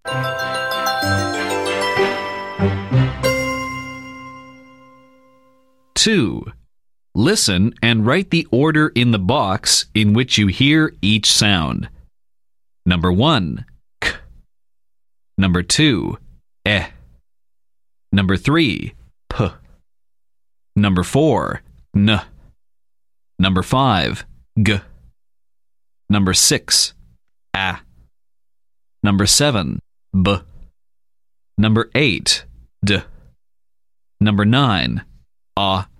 2. Listen and write the order in the box in which you hear each sound. Number 1, k. Number 2, eh. Number 3, p. Number 4, n. Number 5, g. Number 6, a. Number 7, b. Number 8, d. Number 9, ah.